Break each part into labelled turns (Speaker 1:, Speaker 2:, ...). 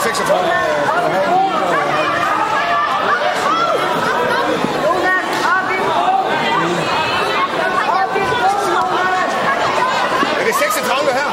Speaker 1: 36. Er det 36 her?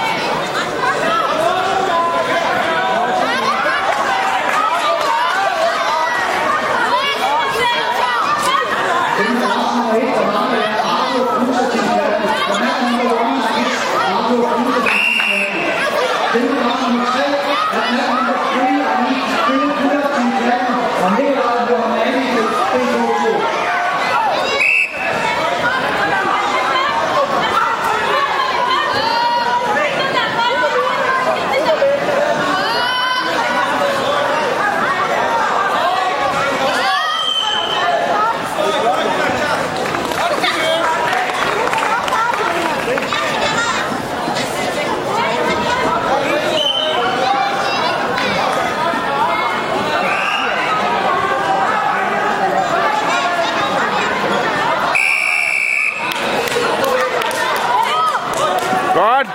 Speaker 2: Godt.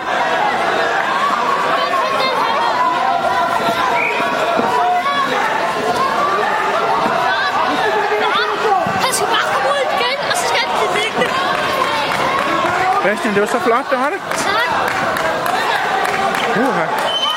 Speaker 3: Han skal bare komme ud igen, og så skal han blive liggende.
Speaker 2: Bastian, det var så flot, det var det.
Speaker 3: Tak.
Speaker 2: Uha.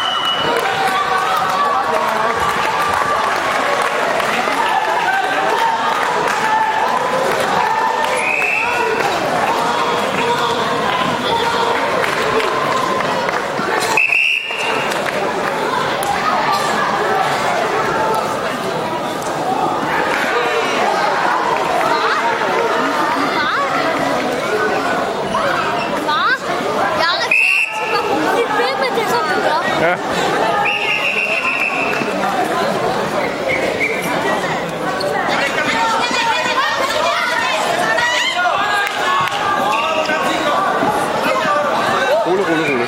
Speaker 2: Ja. Rulle.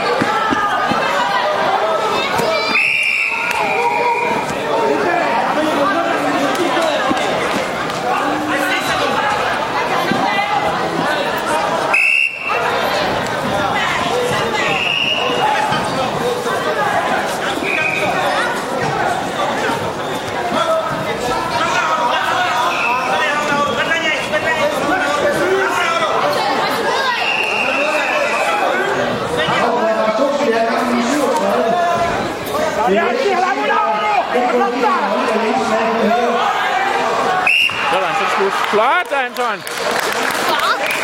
Speaker 2: Sådan, så slut. Flot, Anton!